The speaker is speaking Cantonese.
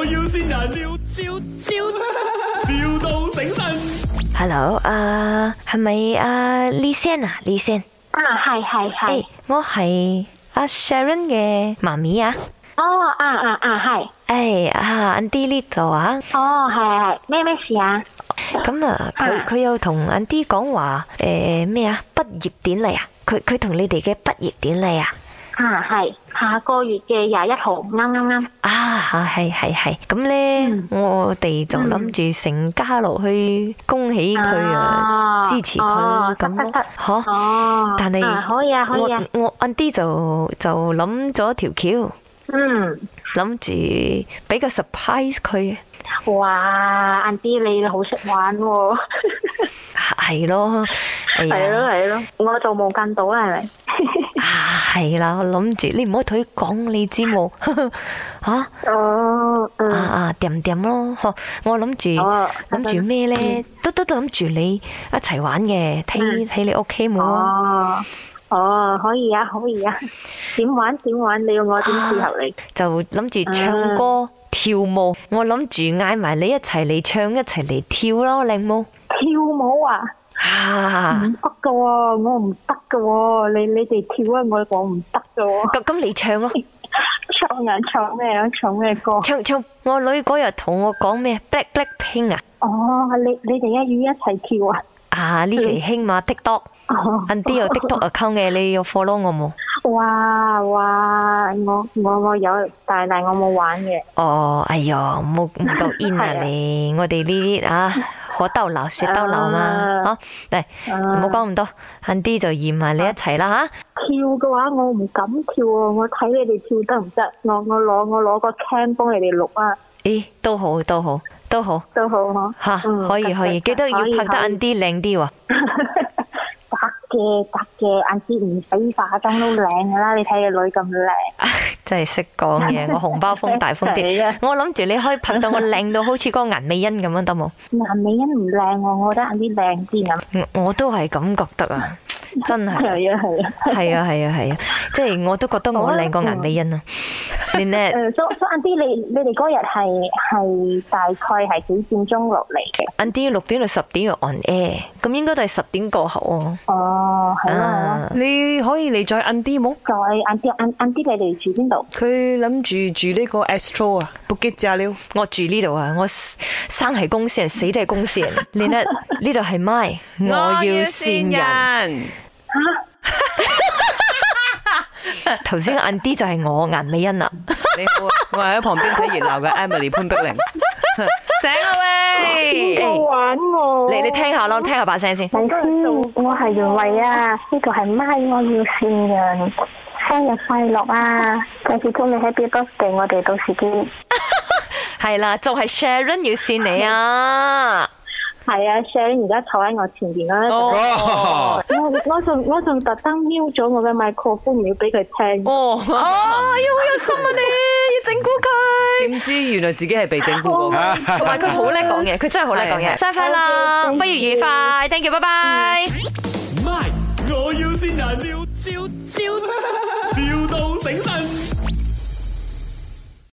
要先人，笑到醒神。 Hello，係咪李先啊？李先係。 我係阿 Sharon 嘅媽咪啊。 係。 Auntie 呢度啊。 係。咩事啊？ 咁啊，佢有同 Auntie 講話咩啊？畢業典禮啊？佢同你哋嘅畢業典禮啊？ 係下個月嘅21號，啱。 係。咁咧，我哋就諗住成家落去恭喜佢啊，支持佢咁咯。吓，但係可以啊。 我 Auntie 就諗咗條橋，諗住俾個 surprise 佢。 哇，Auntie你好識玩喎。 係咯， 係咯，我就冇跟到啦，係咪？ 係啦，我諗住你唔可以同佢講，你知冇？吓？掂咯，我諗住咩咧？都諗住你一齊玩嘅，睇你 OK 冇啊？ 可以啊。點玩？你要我點配合你？ 就諗住唱歌跳舞，我諗住嗌埋你一齊嚟唱，一齊嚟跳咯，靚冇？ 跳舞啊？唔得噶喎，我唔得噶喎，你哋跳啊，我唔得噶喎。 咁你唱咯。 唱咩歌？ 唱，我女嗰日同我講咩 Blackpink 啊。 你哋要一齊跳啊？ 呢期興嘛 TikTok。Auntie 有 TikTok account 嘅，你有 follow 我冇？ 哇，我有，但係我冇玩嘅。 哎呀，唔夠 in 啊你！我哋呢啲可兜鬧說兜鬧嘛，嚟唔好講咁多，Auntie就嫌埋你一齊啦吓。 跳嘅話我唔敢跳啊，我睇你哋跳得唔得？我攞個 cam 幫你哋錄啊。 咦，都好吓，可以，記得要拍得 Auntie 靚啲喎。 得嘅，Auntie唔使化妝都靚噶啦，你睇個女咁靚。 真係識講嘢，我紅包風大風啲。我諗住你可以拍到我靚到好似嗰個顏美欣咁樣得冇？ 顏美欣唔靚喎，我覺得Auntie靚啲咁。 我都係咁覺得啊，真係。係啊，即係我都覺得我靚過顏美欣啊。 所以Auntie你哋嗰日係大概係幾點鐘落嚟嘅 ？Auntie 6點到10點要 on air， 咁應該都係10點過後啊。 係咯。 你可以嚟載Auntie冇？ Auntie你哋住邊度？ 佢諗住呢個 Astro 啊，Bukit Jalil。 我住呢度啊，我生係公司人，死都係公司人。你呢度係咪？我要線人。頭先 Auntie 就係我顏美欣啊！ 你好，我係喺旁邊睇熱鬧嘅 Emily 潘碧玲。醒啦喂！ 好玩喎！ 你聽下咯，聽下把聲先。 我係袁慧啊，呢個係咪我要線人，生日快樂啊！到時祝你 Happy Birthday，我哋到時見。 係啦，就係 Sharon 要線你啊！ 係啊 ，Sharon 而家坐喺我前邊啦。我仲特登瞄咗我嘅麥克風，唔要俾佢聽。 要好有心啊你，要整蠱佢。 點知原來自己係被整蠱嗰個， 同埋佢好叻講嘢，佢真係好叻講嘢。生日快樂，畢業愉快 ，thank you，拜拜。 唔係，我要先人，笑。